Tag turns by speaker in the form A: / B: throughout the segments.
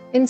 A: In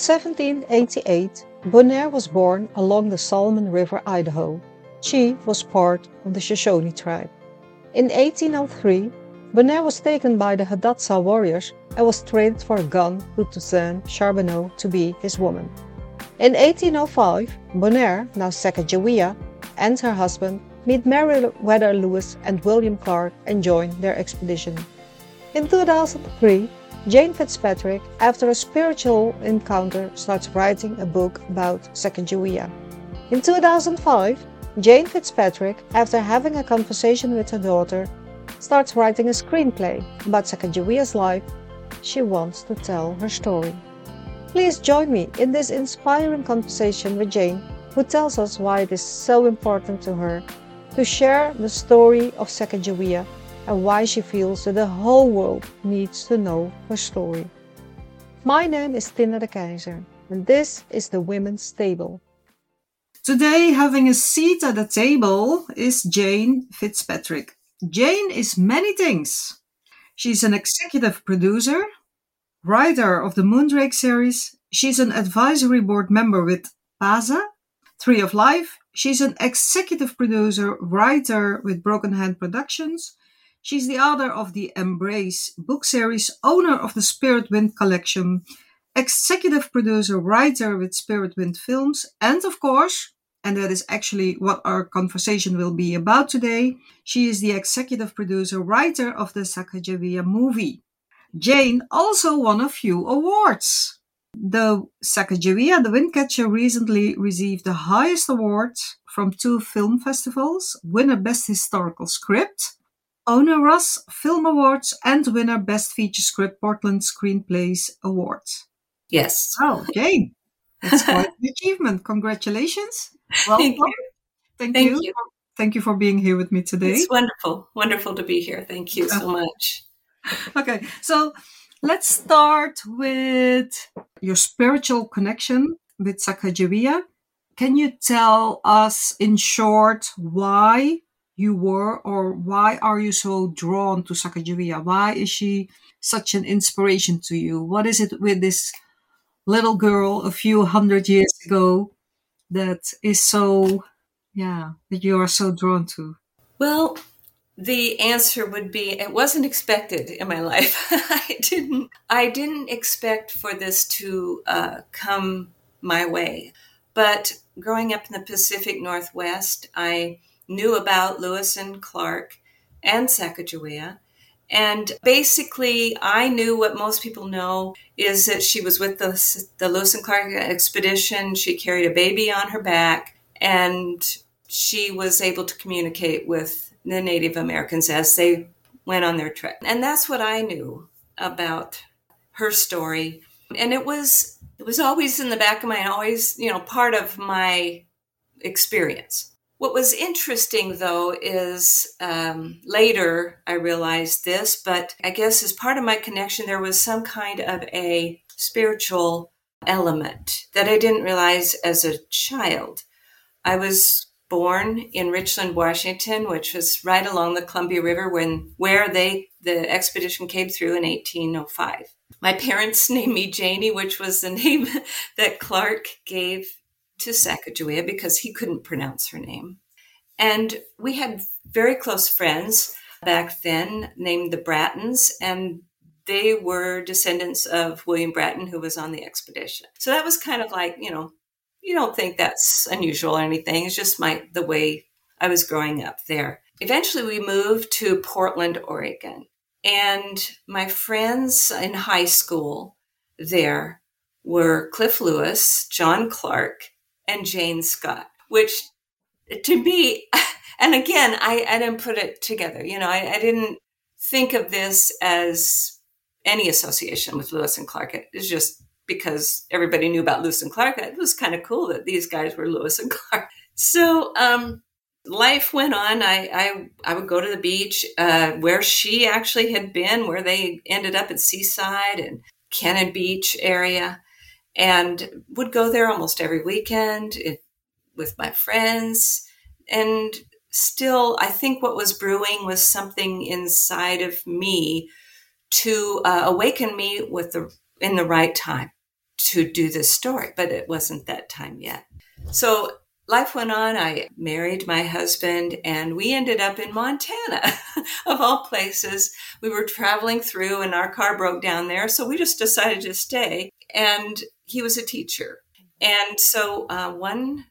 A: 1788, Bonaire was born along the Salmon River, Idaho. She was part of the Shoshone tribe. In 1803, Bonaire was taken by the Hidatsa warriors and was traded for a gun to Toussaint Charbonneau to be his woman. In 1805, Bonaire, now Sacagawea, and her husband meet Meriwether Lewis and William Clark and join their expedition. In 2003, Jane Fitzpatrick, after a spiritual encounter, starts writing a book about Sacagawea. In 2005, Jane Fitzpatrick, after having a conversation with her daughter, starts writing a screenplay about Sacagawea's life. She wants to tell her story. Please join me in this inspiring conversation with Jane, who tells us why it is so important to her to share the story of Sacagawea and why she feels that the whole world needs to know her story. My name is Tina de Keizer, and this is the Women's Table.
B: Today, having a seat at the table is Jane Fitzpatrick. Jane is many things. She's an executive producer, writer of the Moondrake series. She's an advisory board member with PASA, Tree of Life. She's an executive producer, writer with Broken Hand Productions. She's the author of the Embrace book series, owner of the Spirit Wind collection, executive producer, writer with Spirit Wind Films, and of course, and that is actually what our conversation will be about today, she is the executive producer, writer of the Sacagawea movie. Jane also won a few awards. The Sacagawea, the Windcatcher, recently received the highest award from 2 film festivals, winner Best Historical Script, Owner Ross Film Awards, and winner Best Feature Script Portland Screenplays Award.
C: Yes.
B: Oh, Jane, that's quite an achievement. Congratulations. Welcome.
C: Thank you.
B: Thank you for being here with me today.
C: It's wonderful. Wonderful to be here. Thank you so much.
B: Okay, so let's start with your spiritual connection with Sacagawea. Can you tell us in short why you were, or why are you so drawn to Sacagawea? Why is she such an inspiration to you? What is it with this little girl a few hundred years ago that is so, that you are so drawn to?
C: Well, the answer would be it wasn't expected in my life. I didn't expect for this to come my way. But growing up in the Pacific Northwest, I knew about Lewis and Clark and Sacagawea. And basically, I knew what most people know is that she was with the Lewis and Clark expedition. She carried a baby on her back, and she was able to communicate with the Native Americans as they went on their trek. And that's what I knew about her story. And it was always in the back of my mind, always, part of my experience. What was interesting, though, is later I realized this, but I guess as part of my connection, there was some kind of a spiritual element that I didn't realize as a child. I was born in Richland, Washington, which was right along the Columbia River where the expedition came through in 1805. My parents named me Janie, which was the name that Clark gave to Sacagawea because he couldn't pronounce her name. And we had very close friends back then named the Brattons, and they were descendants of William Bratton, who was on the expedition. So that was kind of like, you don't think that's unusual or anything. It's just the way I was growing up there. Eventually, we moved to Portland, Oregon. And my friends in high school there were Cliff Lewis, John Clark, and Jane Scott, which to me, and again, I didn't put it together. I didn't think of this as any association with Lewis and Clark. It was just because everybody knew about Lewis and Clark. It was kind of cool that these guys were Lewis and Clark. So life went on. I would go to the beach where she actually had been, where they ended up at Seaside and Cannon Beach area, and would go there almost every weekend with my friends. And still, I think what was brewing was something inside of me to awaken me in the right time, to do this story, but it wasn't that time yet. So life went on. I married my husband and we ended up in Montana, of all places. We were traveling through and our car broke down there. So we just decided to stay. And he was a teacher. And so one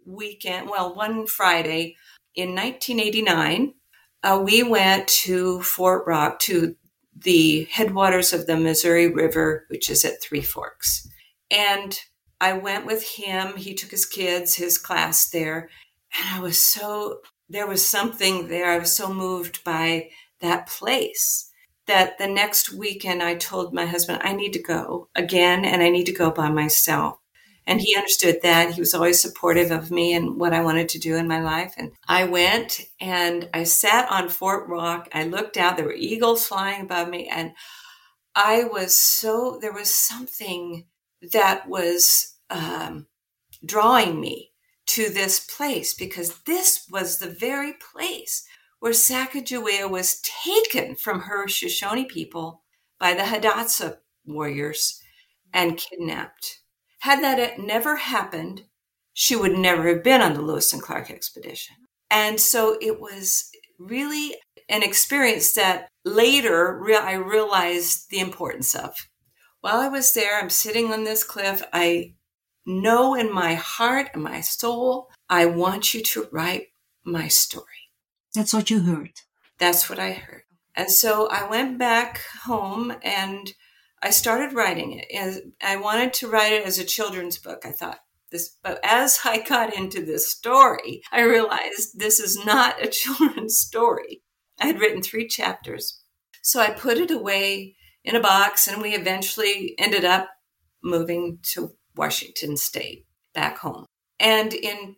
C: Friday in 1989, we went to Fort Rock, to the headwaters of the Missouri River, which is at Three Forks. And I went with him. He took his kids, his class there. And there was something there. I was so moved by that place that the next weekend I told my husband, I need to go again, and I need to go by myself. And he understood that. He was always supportive of me and what I wanted to do in my life. And I went and I sat on Fort Rock. I looked out. There were eagles flying above me. And there was something that was drawing me to this place, because this was the very place where Sacagawea was taken from her Shoshone people by the Hidatsa warriors and kidnapped. Had that never happened, she would never have been on the Lewis and Clark expedition. And so it was really an experience that later I realized the importance of. While I was there, I'm sitting on this cliff. I know in my heart and my soul, I want you to write my story.
B: That's what you heard.
C: That's what I heard. And so I went back home and I started writing it. And I wanted to write it as a children's book. I thought this, but as I got into this story, I realized this is not a children's story. I had written 3 chapters. So I put it away in a box, and we eventually ended up moving to Washington State, back home. And in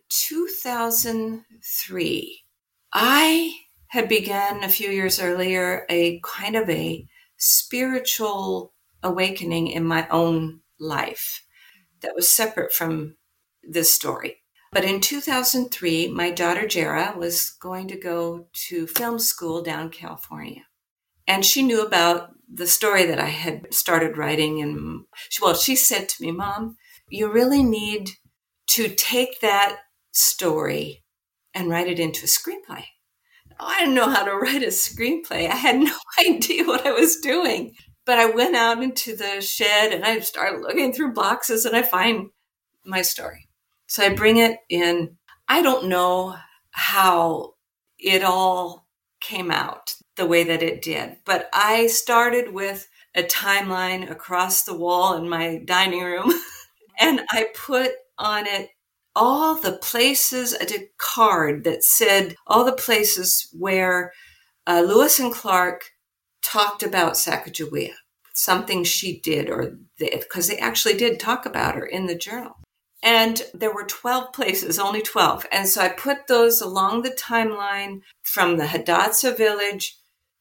C: 2003, I had begun a few years earlier a kind of a spiritual awakening in my own life that was separate from this story. But in 2003, my daughter Jera was going to go to film school down California. And she knew about the story that I had started writing. And she said to me, Mom, you really need to take that story and write it into a screenplay. I didn't know how to write a screenplay. I had no idea what I was doing. But I went out into the shed and I started looking through boxes and I find my story. So I bring it in. I don't know how it all came out the way that it did, but I started with a timeline across the wall in my dining room and I put on it all the places, a card that said all the places where Lewis and Clark talked about Sacagawea, something she did, because they actually did talk about her in the journal. And there were 12 places, only 12. And so I put those along the timeline from the Hidatsa village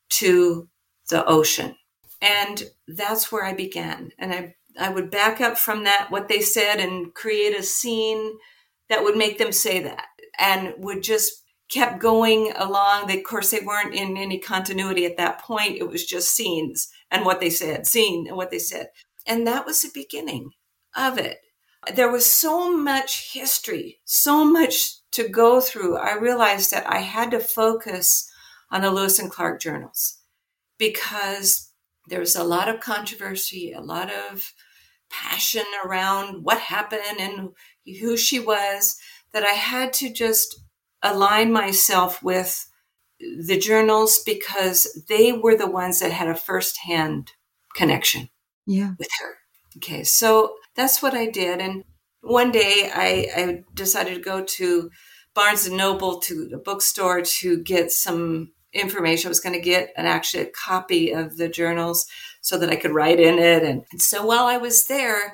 C: to the ocean. And that's where I began. And I would back up from that, what they said, and create a scene that would make them say that, and would just kept going along. Of course, they weren't in any continuity at that point. It was just scenes and what they said, scene and what they said. And that was the beginning of it. There was so much history, so much to go through. I realized that I had to focus on the Lewis and Clark journals because there was a lot of controversy, a lot of passion around what happened and who she was, that I had to just align myself with the journals because they were the ones that had a firsthand connection with her. Okay, so that's what I did. And one day I decided to go to Barnes & Noble, to the bookstore, to get some information. I was going to get actually a copy of the journals so that I could write in it. And so while I was there,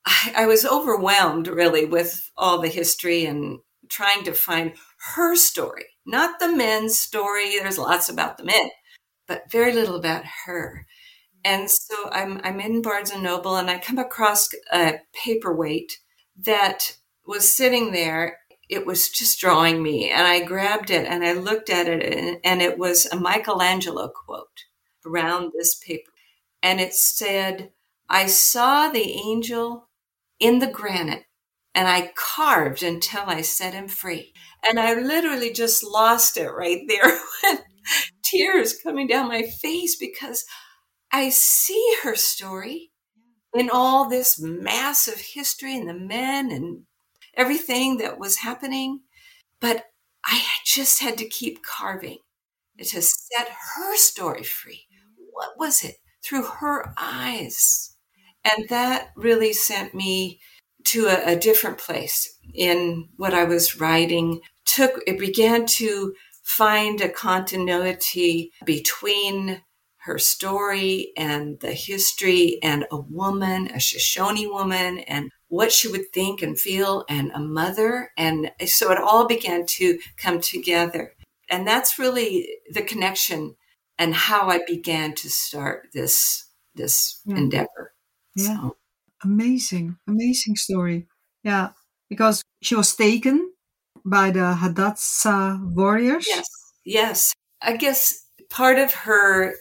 C: I was overwhelmed really with all the history and trying to find her story, not the men's story. There's lots about the men, but very little about her. And so I'm in Barnes & Noble and I come across a paperweight that was sitting there. It was just drawing me, and I grabbed it and I looked at it, and it was a Michelangelo quote around this paper. And it said, I saw the angel in the granite, and I carved until I set him free. And I literally just lost it right there with tears coming down my face, because I see her story in all this massive history and the men and everything that was happening. But I just had to keep carving to set her story free. What was it? Through her eyes. And that really sent me to a different place in what I was writing. It began to find a continuity between her story and the history, and a woman, a Shoshone woman, and what she would think and feel, and a mother. And so it all began to come together. And that's really the connection and how I began to start this endeavor.
B: Yeah.
C: So.
B: Amazing story. Yeah, because she was taken by the Hadassah warriors.
C: Yes. I guess part of her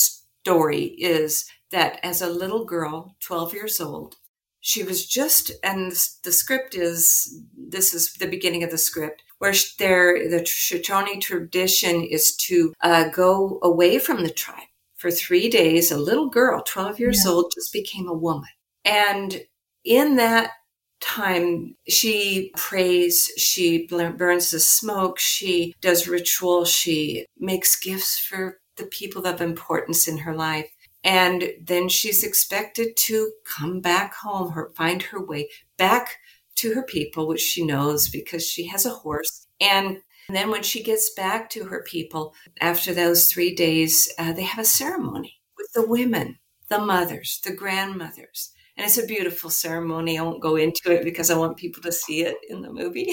C: story is that as a little girl, 12 years old, she was just, and the script is, this is the beginning of the script, where the Shoshone tradition is to go away from the tribe for 3 days. A little girl, 12 years old, just became a woman. And in that time, she prays, she burns the smoke, she does ritual, she makes gifts for the people of importance in her life. And then she's expected to come back home, find her way back to her people, which she knows because she has a horse. And then when she gets back to her people, after those 3 days, they have a ceremony with the women, the mothers, the grandmothers. And it's a beautiful ceremony. I won't go into it because I want people to see it in the movie.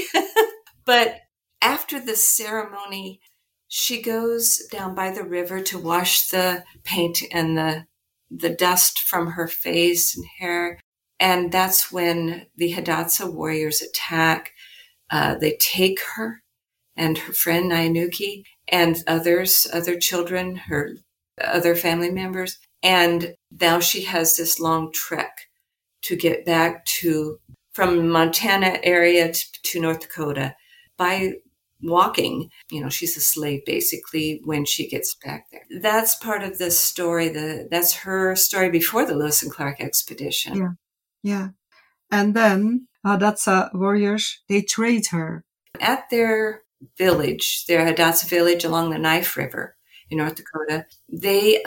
C: But after the ceremony, she goes down by the river to wash the paint and the dust from her face and hair. And that's when the Hadassah warriors attack. They take her and her friend Nyanuki and other children, her other family members. And now she has this long trek to get back from Montana area to North Dakota by walking. She's a slave basically when she gets back there. That's part of this story. That's her story before the Lewis and Clark expedition.
B: Yeah. And then Hadassah warriors, they trade her.
C: At their village, their Hadassah village along the Knife River in North Dakota, they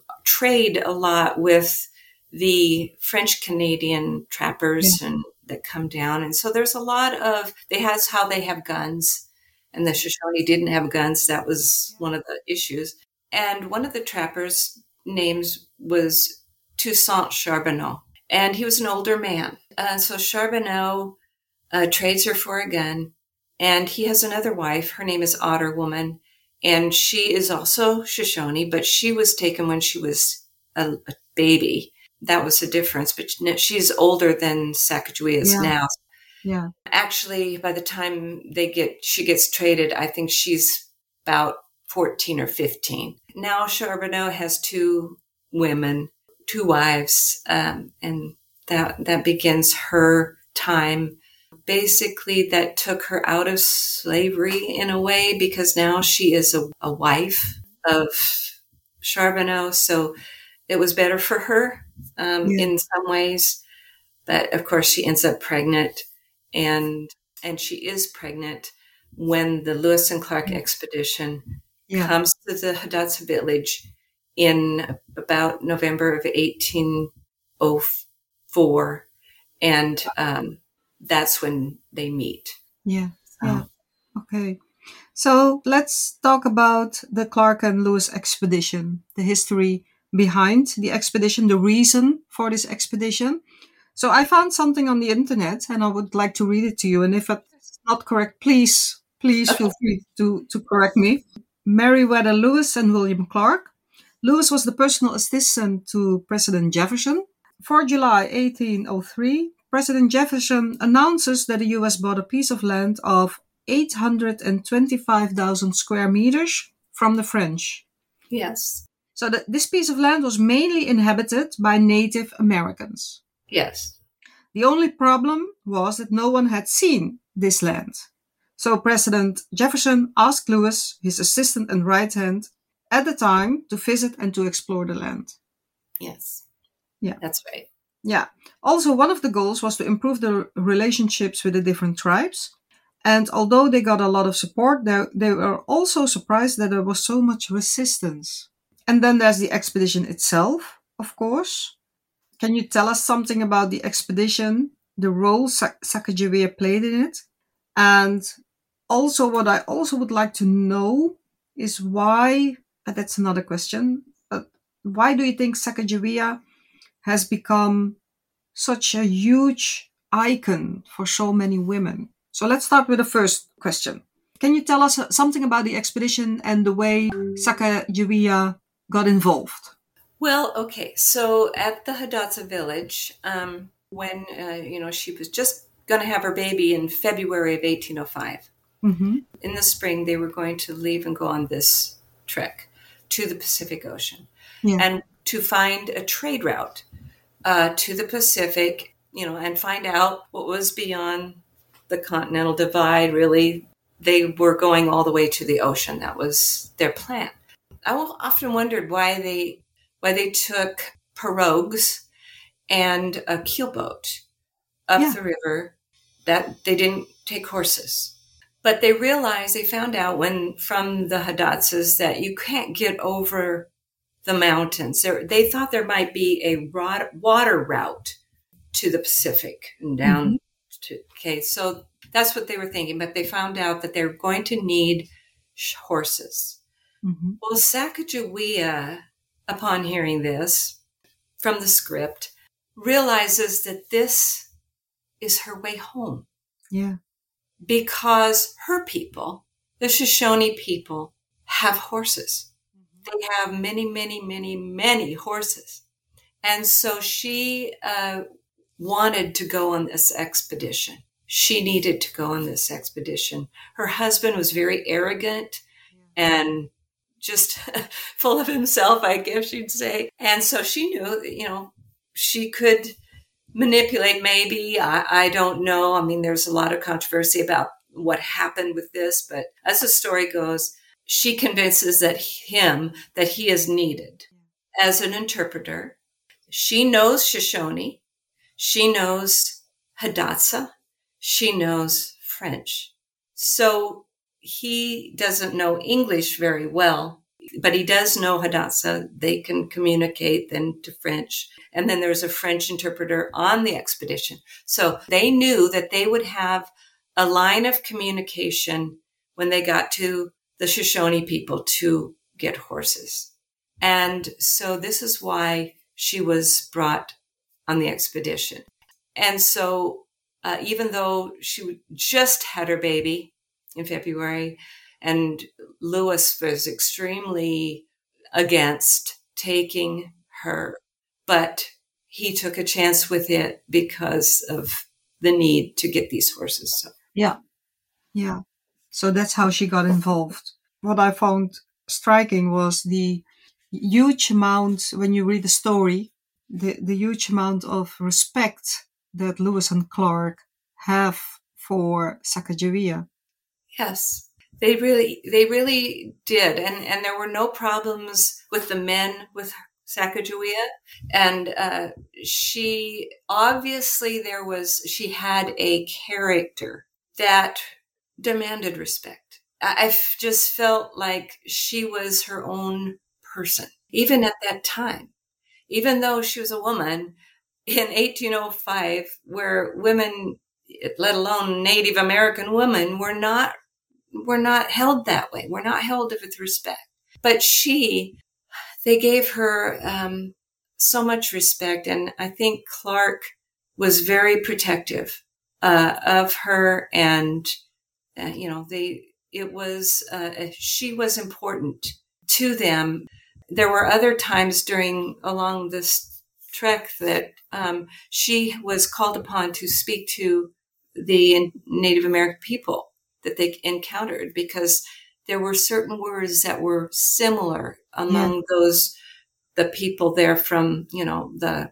C: trade a lot with the French Canadian trappers and that come down. And so there's a lot of, that's how they have guns. And the Shoshone didn't have guns. That was one of the issues. And one of the trappers' names was Toussaint Charbonneau. And he was an older man. So Charbonneau trades her for a gun. And he has another wife. Her name is Otter Woman. And she is also Shoshone, but she was taken when she was a baby. That was the difference. But she's older than Sacagawea is now.
B: Yeah.
C: Actually, by the time she ggets traded, I think she's about 14 or 15. Now Charbonneau has 2 women, 2 wives, and that begins her time. Basically, that took her out of slavery in a way, because now she is a wife of Charbonneau. So it was better for her in some ways. But of course, she ends up pregnant. And she is pregnant when the Lewis and Clark expedition comes to the Hadassah village in about November of 1804. And that's when they meet.
B: Yeah. Okay. So let's talk about the Clark and Lewis expedition, the history behind the expedition, the reason for this expedition. So I found something on the internet and I would like to read it to you. And if it's not correct, please feel free to correct me. Meriwether Lewis and William Clark. Lewis was the personal assistant to President Jefferson. 4 July 1803, President Jefferson announces that the U.S. bought a piece of land of 825,000 square meters from the French.
C: Yes.
B: So this piece of land was mainly inhabited by Native Americans.
C: Yes.
B: The only problem was that no one had seen this land. So President Jefferson asked Lewis, his assistant and right hand, at the time to visit and to explore the land.
C: Yes.
B: Yeah.
C: That's right.
B: Yeah. Also, one of the goals was to improve the relationships with the different tribes. And although they got a lot of support, they were also surprised that there was so much resistance. And then there's the expedition itself, of course. Can you tell us something about the expedition, the role Sacagawea played in it? And also, what I also would like to know is why, that's another question, but why do you think Sacagawea has become such a huge icon for so many women? So let's start with the first question. Can you tell us something about the expedition and the way Sacagawea got involved?
C: Well, okay. So at the Hidatsa village, when she was just going to have her baby in February of 1805.
B: Mm-hmm.
C: In the spring, they were going to leave and go on this trek to the Pacific Ocean, and to find a trade route to the Pacific, and find out what was beyond the continental divide. Really, they were going all the way to the ocean. That was their plan. I often wondered why they took pirogues and a keelboat up the river, that they didn't take horses. But they found out from the Hidatsas that you can't get over the mountains. They thought there might be a water route to the Pacific and down so that's what they were thinking. But they found out that they were going to need horses. Mm-hmm. Well, Sacagawea, upon hearing this from the script, realizes that this is her way home.
B: Yeah.
C: Because her people, the Shoshone people, have horses. Mm-hmm. They have many, many, many, many horses. And so she wanted to go on this expedition. She needed to go on this expedition. Her husband was very arrogant and just full of himself, I guess you'd say. And so she knew, she could manipulate, maybe. I don't know. I mean, there's a lot of controversy about what happened with this, but as the story goes, she convinces that he is needed as an interpreter. She knows Shoshone. She knows Hidatsa. She knows French. So he doesn't know English very well, but he does know Hidatsa. They can communicate then to French. And then there's a French interpreter on the expedition. So they knew that they would have a line of communication when they got to the Shoshone people to get horses. And so this is why she was brought on the expedition. And so even though she just had her baby in February, and Lewis was extremely against taking her, but he took a chance with it because of the need to get these horses. So.
B: Yeah. So that's how she got involved. What I found striking was the huge amount, when you read the story, the huge amount of respect that Lewis and Clark have for Sacagawea.
C: Yes, they really did. And there were no problems with the men with Sacagawea. And she had a character that demanded respect. I just felt like she was her own person, even at that time. Even though she was a woman in 1805, where women, let alone Native American women, were not held that way. We're not held with respect. But they gave her so much respect. And I think Clark was very protective of her. And, she was important to them. There were other times along this trek that she was called upon to speak to the Native American people that they encountered, because there were certain words that were similar among the people there from, the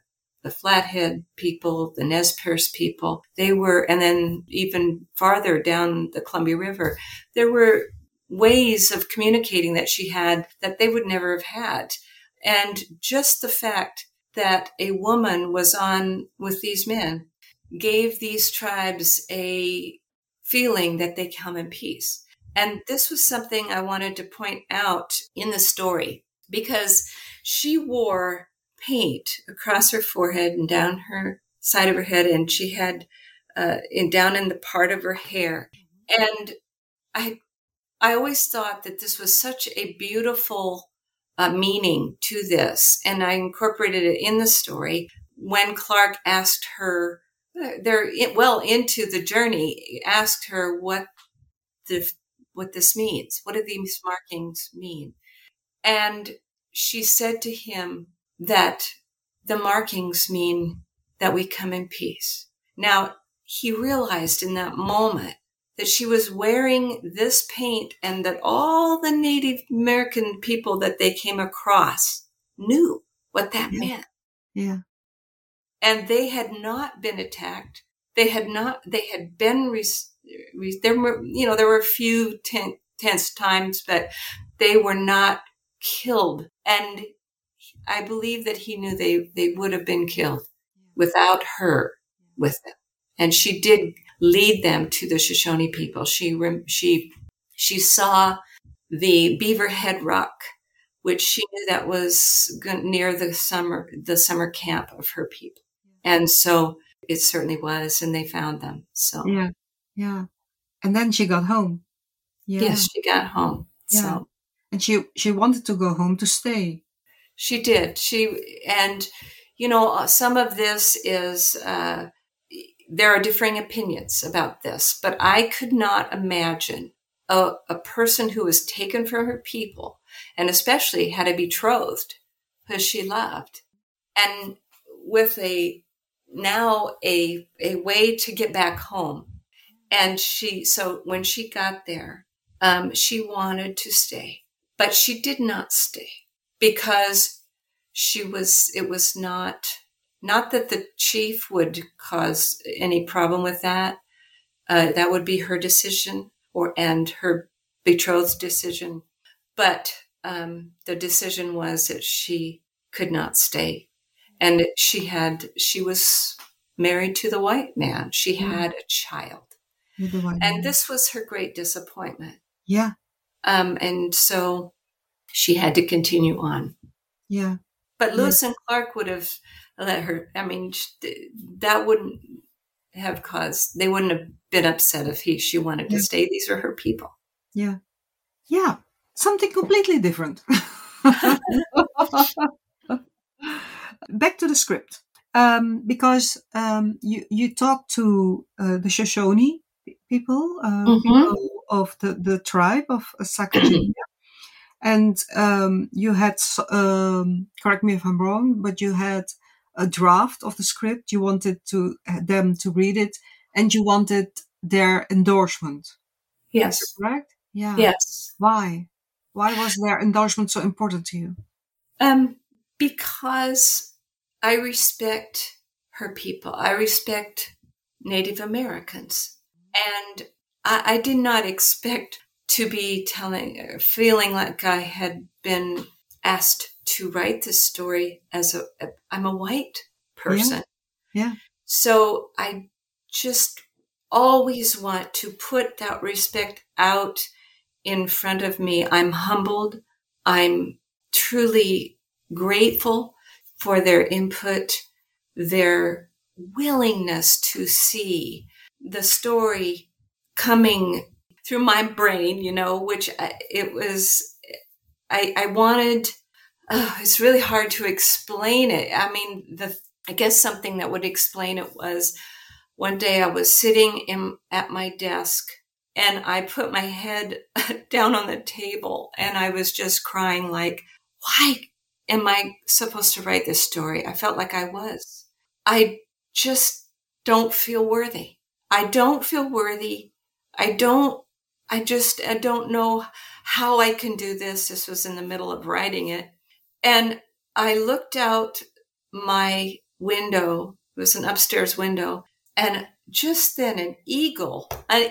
C: the Flathead people, the Nez Perce people. They were, and then even farther down the Columbia River, there were ways of communicating that she had that they would never have had. And just the fact that a woman was on with these men gave these tribes a feeling that they come in peace. And this was something I wanted to point out in the story, because she wore paint across her forehead and down her side of her head, and she had down in the part of her hair. And I always thought that this was such a beautiful meaning to this, and I incorporated it in the story. When Clark asked her, they're well into the journey, asked her what this means. What do these markings mean? And she said to him that the markings mean that we come in peace. Now, he realized in that moment that she was wearing this paint and that all the Native American people that they came across knew what that meant.
B: Yeah.
C: And they had not been attacked. They had been, there were a few tense times, but they were not killed. And I believe that he knew they would have been killed without her with them. And she did lead them to the Shoshone people. She saw the Beaver Head Rock, which she knew that was near the summer camp of her people. And so it certainly was, and they found them. So
B: yeah. And then she got home. Yeah.
C: Yes, she got home.
B: Yeah.
C: So.
B: And she wanted to go home to stay.
C: She did. Some of this is, there are differing opinions about this, but I could not imagine a person who was taken from her people, and especially had a betrothed who she loved, and with a way to get back home. And so when she got there, she wanted to stay, but she did not stay because it was not that the chief would cause any problem with that. That would be her decision and her betrothed's decision. But the decision was that she could not stay. And she was married to the white man. She had a child. And this was her great disappointment.
B: Yeah.
C: And so she had to continue on.
B: Yeah.
C: But Lewis and Clark would have let her, that wouldn't have they wouldn't have been upset if she wanted to stay. These are her people.
B: Yeah. Yeah. Something completely different. Back to the script. Because you talked to the Shoshone people, people of the tribe of Sacagawea. And you had, correct me if I'm wrong, but you had a draft of the script. You wanted them to read it, and you wanted their endorsement.
C: Yes.
B: Is that correct? Yeah.
C: Yes.
B: Why? Why was their endorsement so important to you?
C: Because I respect her people. I respect Native Americans. And I did not expect to be feeling like I had been asked to write this story I'm a white person.
B: Yeah.
C: So I just always want to put that respect out in front of me. I'm humbled. I'm truly grateful for their input, their willingness to see the story coming through my brain, which I wanted, it's really hard to explain it. I guess something that would explain it was one day I was sitting at my desk and I put my head down on the table and I was just crying like, why am I supposed to write this story? I felt like I was. I just don't feel worthy. I don't feel worthy. I don't know how I can do this. This was in the middle of writing it. And I looked out my window. It was an upstairs window. And just then an eagle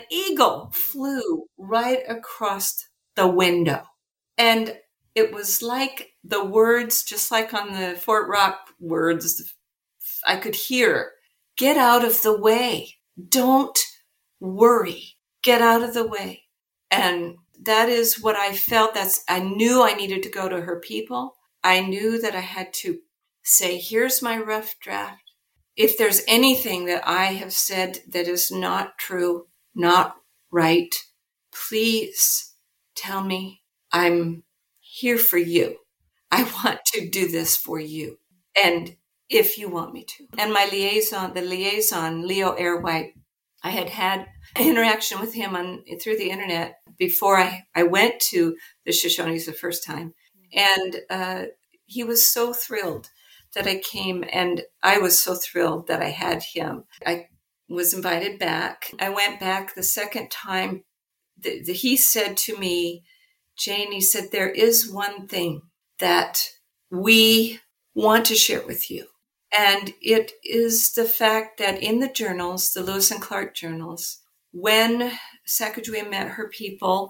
C: flew right across the window. And it was like the words, just like on the Fort Rock words, I could hear, get out of the way. Don't worry. Get out of the way. And that is what I felt. I knew I needed to go to her people. I knew that I had to say, here's my rough draft. If there's anything that I have said that is not true, not right, please tell me. I'm here for you. I want to do this for you. And if you want me to. And my liaison, Leo Airwhite, I had interaction with him through the internet before I went to the Shoshones the first time. And he was so thrilled that I came, and I was so thrilled that I had him. I was invited back. I went back the second time. He said to me, Jane, he said, there is one thing that we want to share with you. And it is the fact that in the journals, the Lewis and Clark journals, when Sacagawea met her people,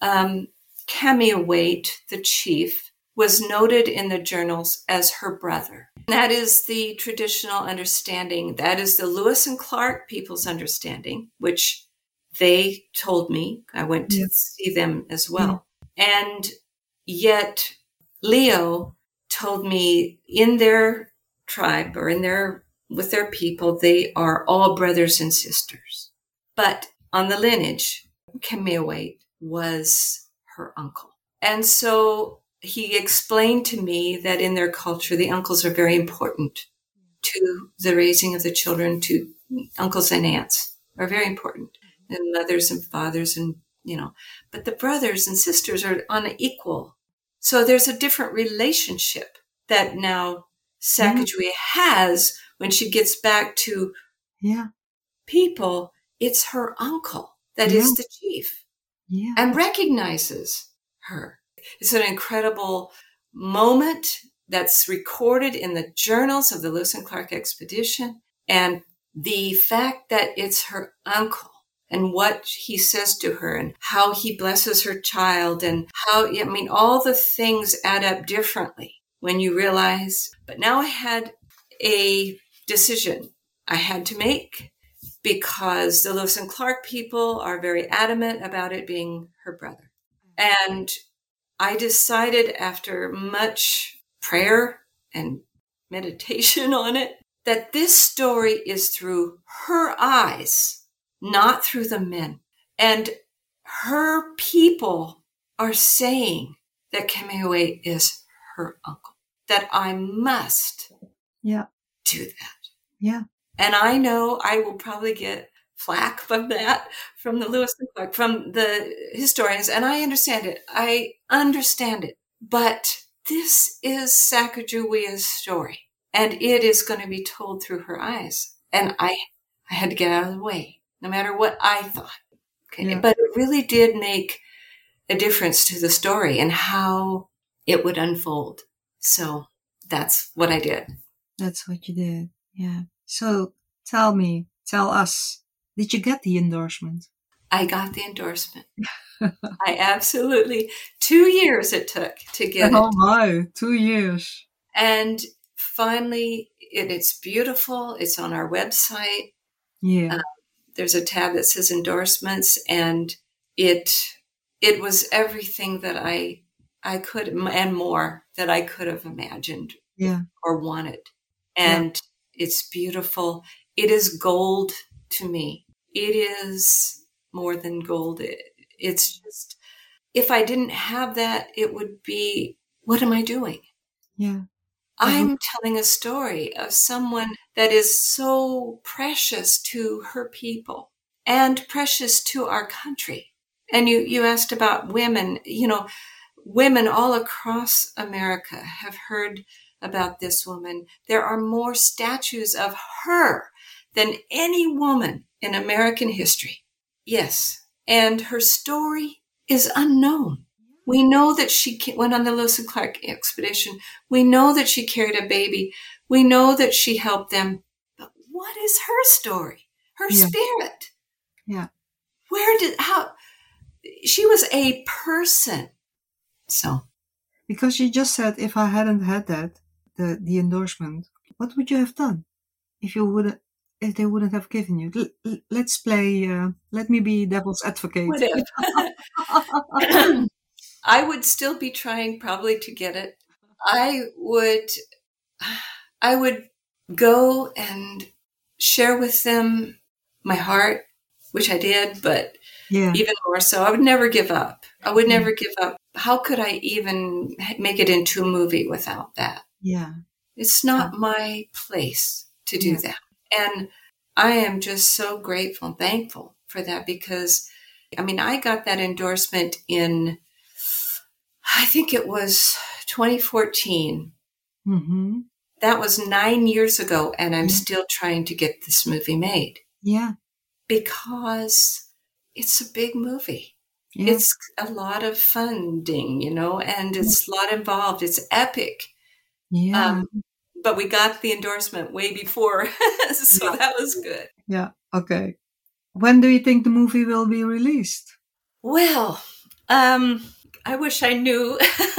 C: Cameawait, the chief, was noted in the journals as her brother. That is the traditional understanding. That is the Lewis and Clark people's understanding, which they told me. I went to see them as well. And yet Leo told me in their tribe or with their people, they are all brothers and sisters. But on the lineage, Cameawait was her uncle. And so he explained to me that in their culture, the uncles are very important to the raising of the children, to uncles and aunts are very important, and mothers and fathers and, but the brothers and sisters are unequal. So there's a different relationship that now Sacagawea has when she gets back to people. It's her uncle that is the chief and recognizes her. It's an incredible moment that's recorded in the journals of the Lewis and Clark expedition. And the fact that it's her uncle and what he says to her and how he blesses her child and how, all the things add up differently when you realize. But now I had a decision I had to make because the Lewis and Clark people are very adamant about it being her brother. And I decided after much prayer and meditation on it that this story is through her eyes, not through the men. And her people are saying that Cameawait is her uncle, that I must do that.
B: Yeah.
C: And I know I will probably get flack from that, from the Lewis and Clark, from the historians, and I understand it. But this is Sacagawea's story, and it is going to be told through her eyes. And I had to get out of the way, no matter what I thought. Okay, yeah. But it really did make a difference to the story and how it would unfold. So that's what I did.
B: That's what you did. Yeah. So tell us, did you get the endorsement?
C: I got the endorsement. I absolutely, 2 years it took to get it.
B: Oh my, 2 years.
C: And finally, it's beautiful. It's on our website.
B: Yeah.
C: There's a tab that says endorsements, and it was everything that I could, and more that I could have imagined or wanted. And it's beautiful. It is gold to me. It is more than gold. It's just, if I didn't have that, it would be, what am I doing?
B: Yeah.
C: I'm telling a story of someone that is so precious to her people and precious to our country. And you asked about women. Women all across America have heard about this woman. There are more statues of her than any woman in American history. Yes. And her story is unknown. We know that she went on the Lewis and Clark expedition. We know that she carried a baby. We know that she helped them, but what is her story? Her
B: Yeah.
C: spirit?
B: Yeah.
C: How? She was a person. So.
B: Because you just said, if I hadn't had that, the endorsement, what would you have done if they wouldn't have given you? Let's play. Let me be devil's advocate.
C: What if? I would still be trying probably to get it. I would go and share with them my heart, which I did, but
B: Yeah.
C: even more so, I would never give up. I would never give up. How could I even make it into a movie without that?
B: Yeah.
C: It's not my place to do that. And I am just so grateful and thankful for that because, I mean, I got that endorsement in, I think it was 2014.
B: Mm-hmm.
C: That was 9 years ago, and I'm still trying to get this movie made.
B: Yeah.
C: Because it's a big movie.
B: Yeah.
C: It's a lot of funding, and it's a lot involved. It's epic.
B: Yeah.
C: But we got the endorsement way before, so that was good.
B: Yeah. Okay. When do you think the movie will be released?
C: Well, I wish I knew,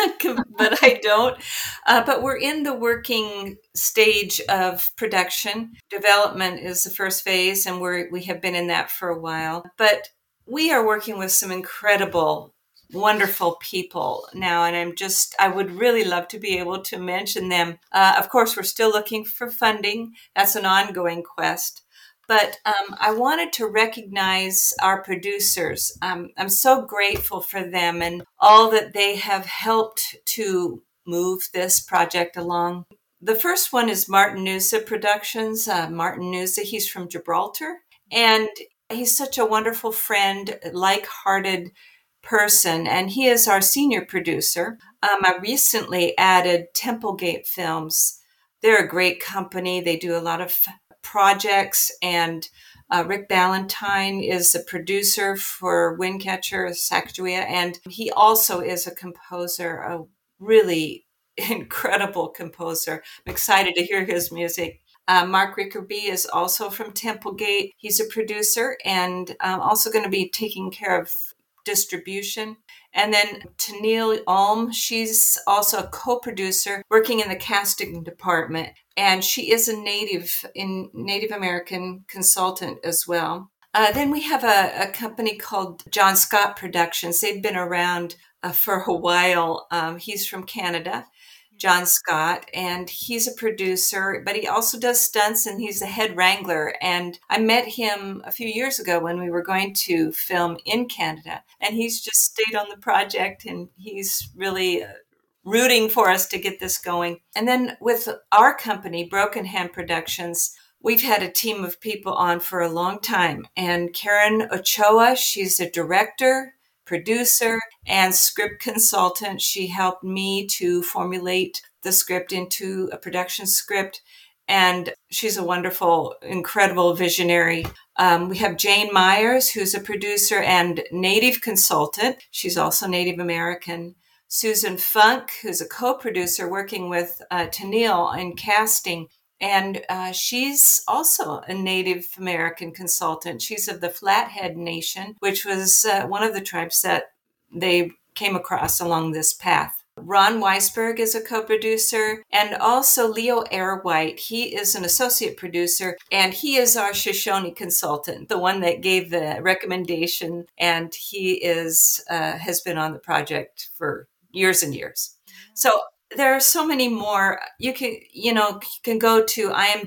C: but I don't. But we're in the working stage of production. Development is the first phase, and we have been in that for a while. But we are working with some incredible, wonderful people now, and I would really love to be able to mention them. Of course, we're still looking for funding. That's an ongoing quest. But I wanted to recognize our producers. I'm so grateful for them and all that they have helped to move this project along. The first one is Martin Noosa Productions. Martin Noosa, he's from Gibraltar, and he's such a wonderful friend, like-hearted person, and he is our senior producer. I recently added Templegate Films. They're a great company. They do a lot of projects, and Rick Ballantyne is a producer for Windcatcher, Sacagawea, and he also is a composer, a really incredible composer. I'm excited to hear his music. Mark Rickerby is also from Templegate. He's a producer and also going to be taking care of distribution. And then Tennille Ulm, she's also a co-producer working in the casting department. And she is a Native American consultant as well. Then we have a company called John Scott Productions. They've been around for a while. He's from Canada, John Scott, and he's a producer, but he also does stunts, and he's the head wrangler. And I met him a few years ago when we were going to film in Canada, and he's just stayed on the project, and he's really rooting for us to get this going. And then with our company, Broken Hand Productions, we've had a team of people on for a long time. And Karen Ochoa, she's a director, producer, and script consultant. She helped me to formulate the script into a production script. And she's a wonderful, incredible visionary. We have Jane Myers, who's a producer and Native consultant. She's also Native American. Susan Funk, who's a co-producer working with Tennille in casting. And she's also a Native American consultant. She's of the Flathead Nation, which was one of the tribes that they came across along this path. Ron Weisberg is a co-producer, and also Leo Airwhite. He is an associate producer, and he is our Shoshone consultant, the one that gave the recommendation, and he has been on the project for years and years. So there are so many more. You can go to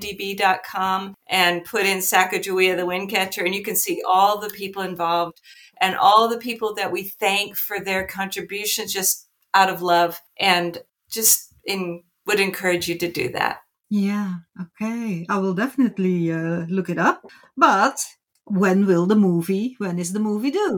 C: imdb.com and put in Sacagawea the Windcatcher, and you can see all the people involved and all the people that we thank for their contributions just out of love, and just would encourage you to do that.
B: Yeah, okay. I will definitely look it up. But when is the movie due?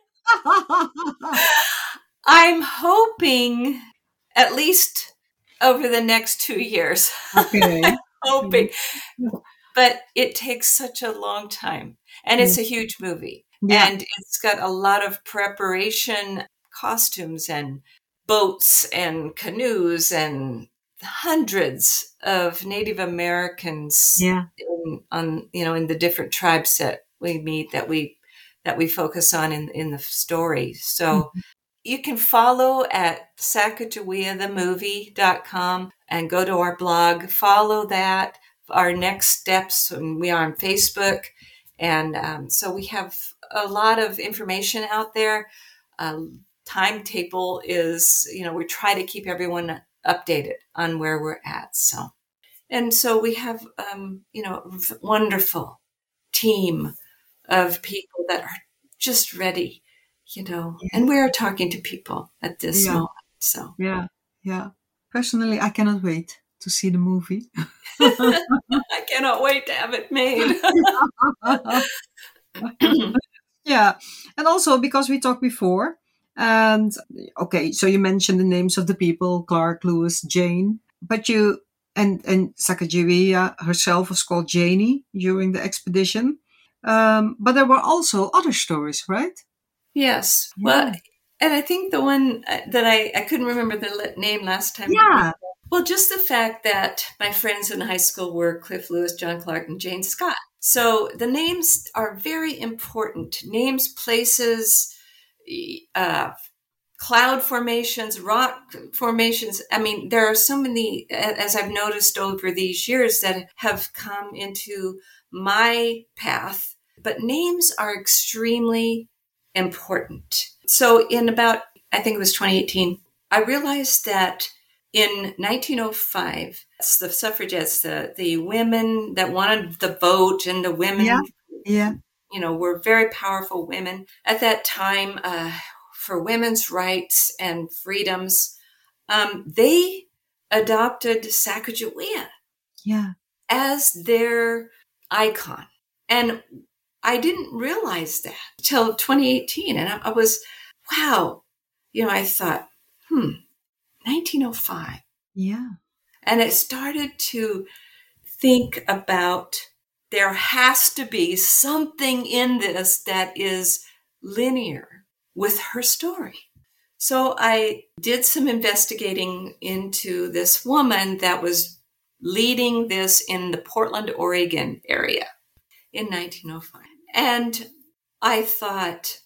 C: I'm hoping at least over the next 2 years.
B: Okay.
C: I'm hoping. But it takes such a long time. And it's a huge movie.
B: Yeah.
C: And it's got a lot of preparation, costumes and boats and canoes and hundreds of Native Americans
B: Yeah.
C: in the different tribes that we meet, that we focus on in the story. So you can follow at sacagaweathemovie.com and go to our blog, follow that, our next steps. And we are on Facebook. And so we have a lot of information out there. Timetable is, we try to keep everyone updated on where we're at. So we have, a wonderful team of people that are just ready, and we're talking to people at this moment. So
B: Yeah. Personally, I cannot wait to see the movie.
C: I cannot wait to have it made.
B: Yeah. And also because we talked before, and okay, so you mentioned the names of the people, Clark, Lewis, Jane, but you and Sacagawea herself was called Janie during the expedition. But there were also other stories, right?
C: Yes.
B: Yeah.
C: Well, and I think the one that I couldn't remember the name last time.
B: Yeah.
C: Well, just the fact that my friends in high school were Cliff Lewis, John Clark, and Jane Scott. So the names are very important. Names, places, cloud formations, rock formations. I mean, there are so many, as I've noticed over these years, that have come into my path. But names are extremely important. So I think it was 2018, I realized that in 1905, the suffragettes, the women that wanted the vote, and the women, were very powerful women at that time for women's rights and freedoms. They adopted Sacagawea as their icon. And I didn't realize that till 2018. And I was, wow. I thought, 1905.
B: Yeah.
C: And it started to think about, there has to be something in this that is linear with her story. So I did some investigating into this woman that was leading this in the Portland, Oregon area in 1905. And I thought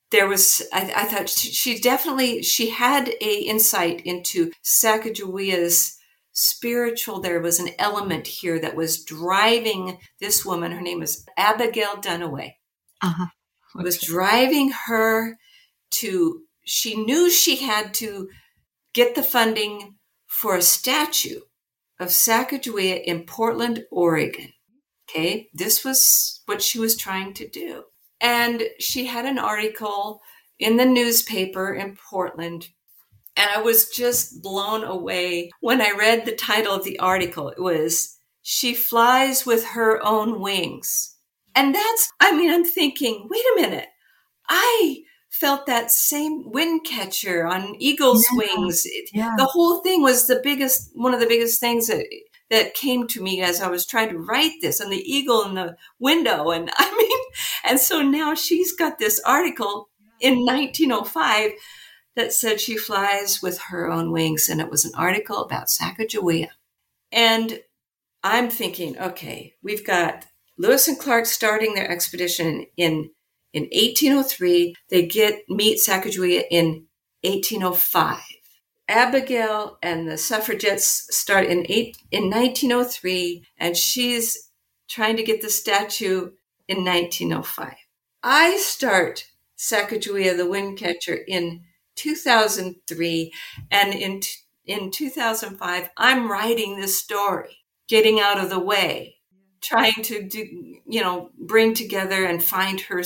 C: I thought she had a insight into Sacagawea's spiritual. There was an element here that was driving this woman. Her name was Abigail Duniway. Was driving her to, she knew she had to get the funding for a statue of Sacagawea in Portland, Oregon. Okay, this was what she was trying to do. And she had an article in the newspaper in Portland. And I was just blown away when I read the title of the article. It was, "She Flies with Her Own Wings." And I'm thinking, wait a minute. I felt that same wind catcher on eagle's wings. The whole thing was one of the biggest things that came to me as I was trying to write this, and the eagle in the window. And and so now she's got this article in 1905 that said she flies with her own wings. And it was an article about Sacagawea. And I'm thinking, okay, we've got Lewis and Clark starting their expedition in 1803. They meet Sacagawea in 1805. Abigail and the suffragettes start in 1903, and she's trying to get the statue in 1905. I start Sacagawea the Windcatcher in 2003, and in 2005, I'm writing this story, getting out of the way, trying to bring together and find her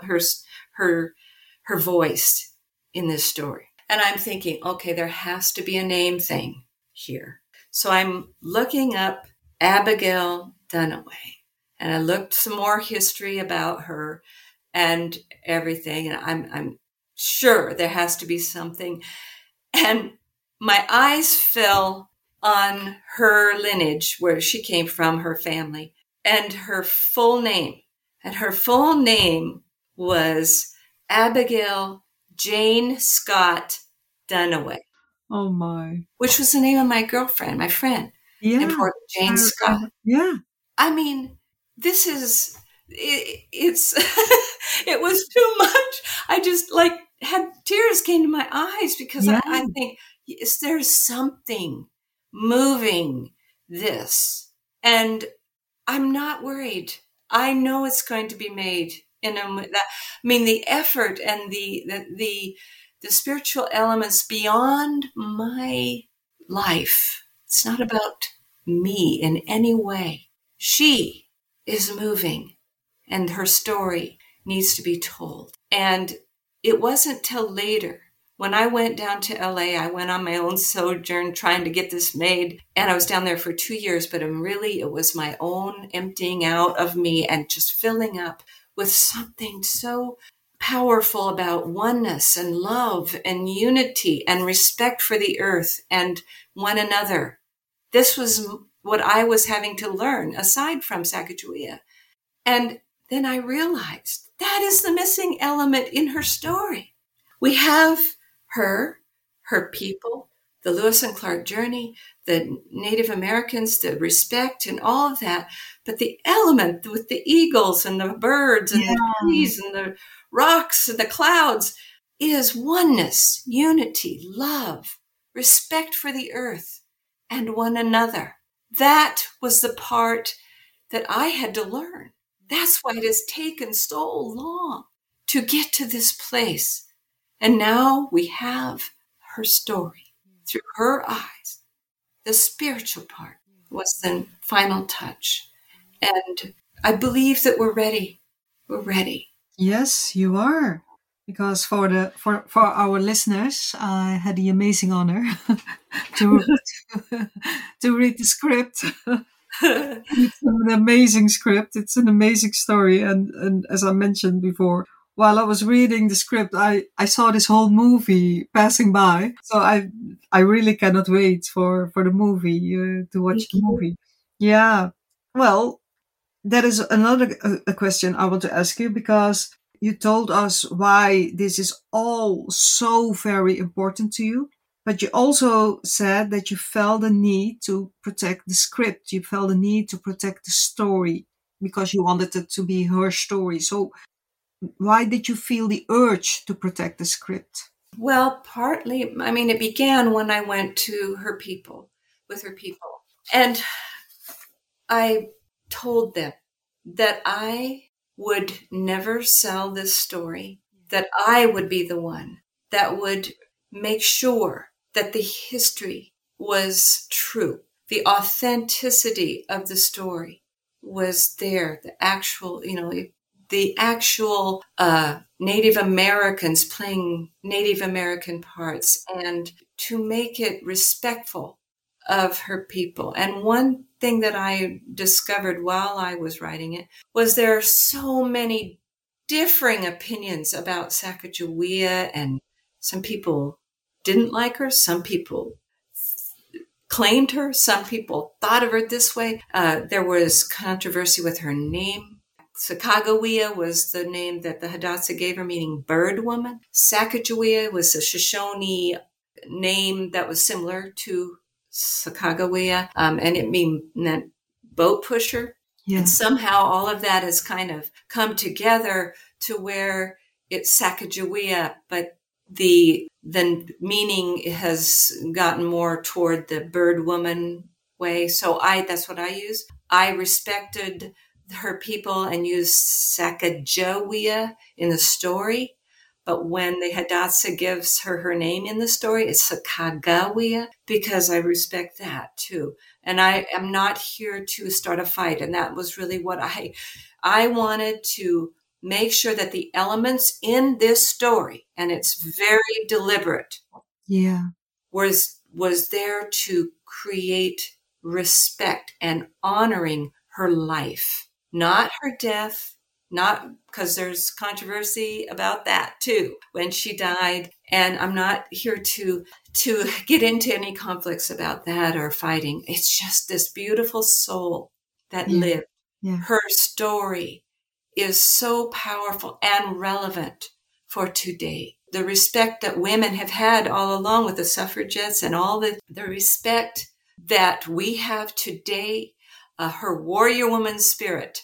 C: voice in this story. And I'm thinking, okay, there has to be a name thing here. So I'm looking up Abigail Duniway, and I looked some more history about her and everything. And I'm sure there has to be something. And my eyes fell on her lineage, where she came from, her family, and her full name. And her full name was Abigail Jane Scott Duniway.
B: Oh my.
C: which was the name of my girlfriend, my friend in
B: Yeah.
C: Portland, Jane Scott.
B: Yeah.
C: I mean, this is, it's, it was too much. I just like had tears came to my eyes because
B: Yeah.
C: I think, is there something moving this? And I'm not worried. I know it's going to be made the effort and the spiritual elements beyond my life. It's not about me in any way. She is moving and her story needs to be told. And it wasn't till later when I went down to LA, I went on my own sojourn trying to get this made. And I was down there for 2 years, but it was my own emptying out of me and just filling up with something so powerful about oneness and love and unity and respect for the earth and one another. This was what I was having to learn aside from Sacagawea. And then I realized that is the missing element in her story. We have her people, the Lewis and Clark journey, the Native Americans, the respect and all of that. But the element with the eagles and the birds and the trees and the rocks and the clouds is oneness, unity, love, respect for the earth and one another. That was the part that I had to learn. That's why it has taken so long to get to this place. And now we have her story through her eyes. The spiritual part was the final touch. And I believe that we're ready. We're ready.
B: Yes, you are. Because for our listeners, I had the amazing honor to read the script. It's an amazing script. It's an amazing story. And as I mentioned before, while I was reading the script, I saw this whole movie passing by. So I really cannot wait for the movie, to watch the movie. Yeah. Well, that is another a question I want to ask you, because you told us why this is all so very important to you. But you also said that you felt the need to protect the script. You felt the need to protect the story because you wanted it to be her story. So why did you feel the urge to protect the script?
C: Well, partly, it began when I went to with her people. And I told them that I would never sell this story, that I would be the one that would make sure that the history was true. The authenticity of the story was there. The actual Native Americans playing Native American parts, and to make it respectful of her people. And one thing that I discovered while I was writing it was there are so many differing opinions about Sacagawea, and some people didn't like her, some people claimed her, some people thought of her this way. There was controversy with her name. Sacagawea was the name that the Hidatsa gave her, meaning bird woman. Sacagawea was a Shoshone name that was similar to Sacagawea, and it meant boat pusher. Yeah. And somehow all of that has kind of come together to where it's Sacagawea, but the meaning has gotten more toward the bird woman way. So that's what I use. I respected her people and used Sacagawea in the story. But when the Hidatsa gives her name in the story, it's Sacagawea, because I respect that too. And I am not here to start a fight. And that was really what I wanted to make sure that the elements in this story, and it's very deliberate, was there to create respect and honoring her life, not her death. Not because there's controversy about that too, when she died. And I'm not here to get into any conflicts about that or fighting. It's just this beautiful soul that lived. Yeah. Her story is so powerful and relevant for today. the respect that women have had all along with the suffragettes and all the respect that we have today, her warrior woman spirit,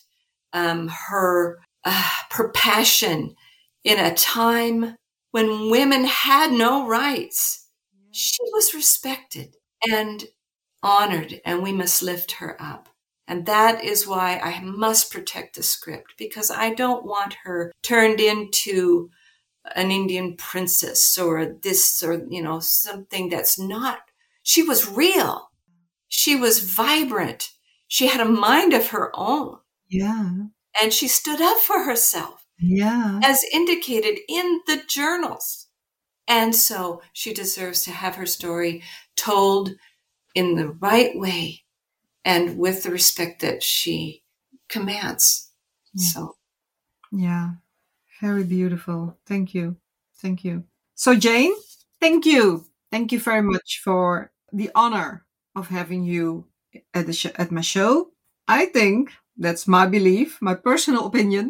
C: her passion in a time when women had no rights. She was respected and honored, and we must lift her up. And that is why I must protect the script, because I don't want her turned into an Indian princess or this or, something that's not. She was real. She was vibrant. She had a mind of her own.
B: Yeah.
C: And she stood up for herself.
B: Yeah.
C: As indicated in the journals. And so she deserves to have her story told in the right way and with the respect that she commands.
B: Yeah.
C: So.
B: Yeah. Very beautiful. Thank you. Thank you. So Jane, thank you. Thank you very much for the honor of having you at my show. I think that's my belief, my personal opinion.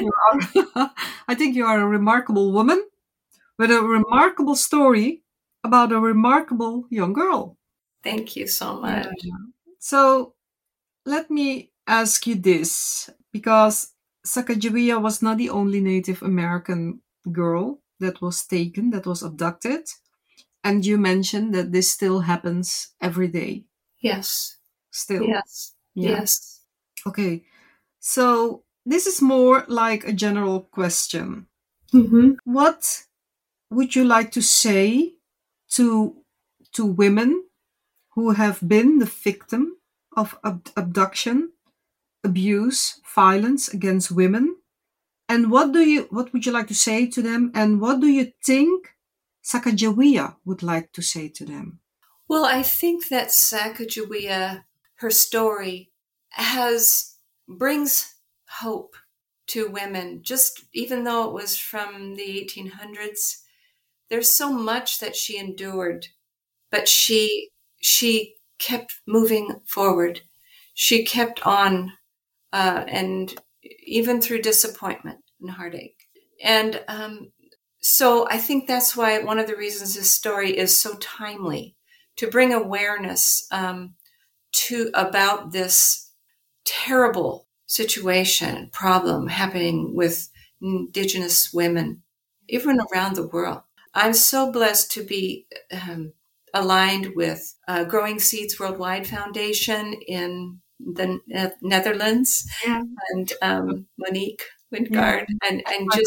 B: I think you are a remarkable woman with a remarkable story about a remarkable young girl.
C: Thank you so much.
B: So let me ask you this, because Sacagawea was not the only Native American girl that was taken, that was abducted. And you mentioned that this still happens every day.
C: Yes.
B: Still.
C: Yes.
B: Yeah.
C: Yes.
B: Okay. So this is more like a general question.
C: Mm-hmm.
B: What would you like to say to women who have been the victim of abduction, abuse, violence against women? And what would you like to say to them? And what do you think Sacagawea would like to say to them?
C: Well, I think that Sacagawea, her story, brings hope to women. Just even though it was from the 1800s, there's so much that she endured, but she kept moving forward. She kept on, and even through disappointment and heartache. And so I think that's why one of the reasons this story is so timely, to bring awareness about this terrible situation, problem happening with Indigenous women, even around the world. I'm so blessed to be aligned with Growing Seeds Worldwide Foundation in the Netherlands,
B: yeah.
C: And Monique Wingard, and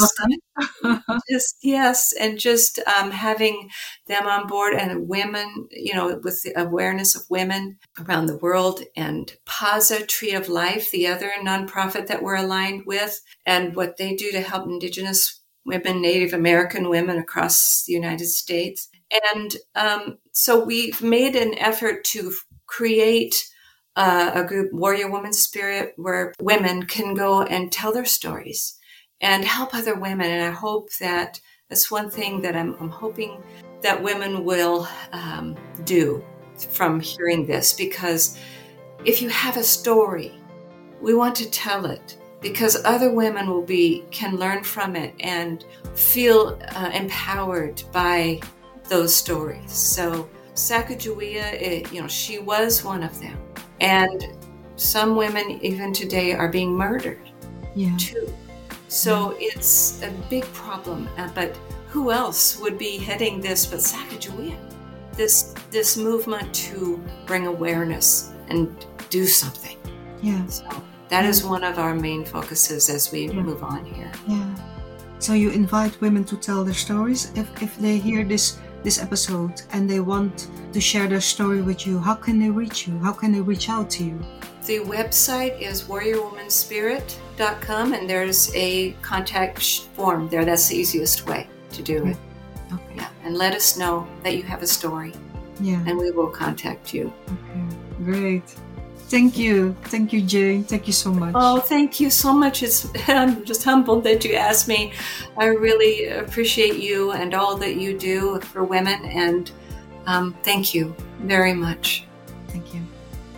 C: just having them on board, and women, with the awareness of women around the world, and PAZA, Tree of Life, the other nonprofit that we're aligned with, and what they do to help Indigenous women, Native American women across the United States. And so we've made an effort to create a group, Warrior Woman Spirit, where women can go and tell their stories and help other women. And I hope that's one thing that I'm hoping that women will do from hearing this, because if you have a story, we want to tell it, because other women can learn from it and feel empowered by those stories. So Sacagawea, she was one of them. And some women even today are being murdered too. So it's a big problem. But who else would be heading this but Sacagawea? This movement to bring awareness and do something.
B: Yeah.
C: So that is one of our main focuses as we move on here.
B: Yeah. So you invite women to tell their stories. If they hear this episode and they want to share their story with you, how can they reach you? How can they reach out to you?
C: The website is warriorwomanspirit.com, and there's a contact form there. That's the easiest way to do it.
B: Okay.
C: Yeah. And let us know that you have a story.
B: Yeah.
C: And we will contact you.
B: Okay. Great. Thank you. Thank you, Jane. Thank you so much.
C: Oh, thank you so much. I'm just humbled that you asked me. I really appreciate you and all that you do for women. And thank you very much.
B: Thank you.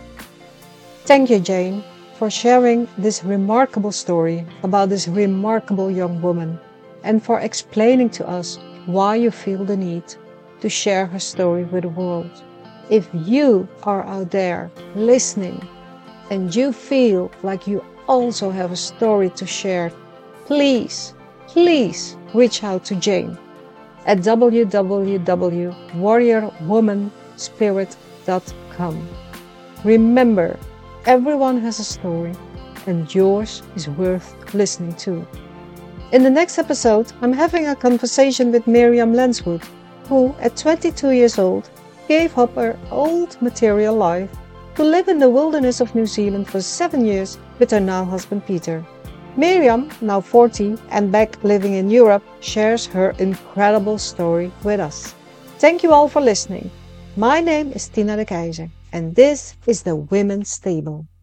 A: Thank you, Jane, for sharing this remarkable story about this remarkable young woman, and for explaining to us why you feel the need to share her story with the world. If you are out there listening and you feel like you also have a story to share, please reach out to Jane at www.warriorwomanspirit.com. Remember, everyone has a story and yours is worth listening to. In the next episode, I'm having a conversation with Miriam Lenswood, who, at 22 years old, gave up her old material life to live in the wilderness of New Zealand for 7 years with her now husband Peter. Miriam, now 40 and back living in Europe, shares her incredible story with us. Thank you all for listening. My name is Tina de Keizer, and this is the Women's Table.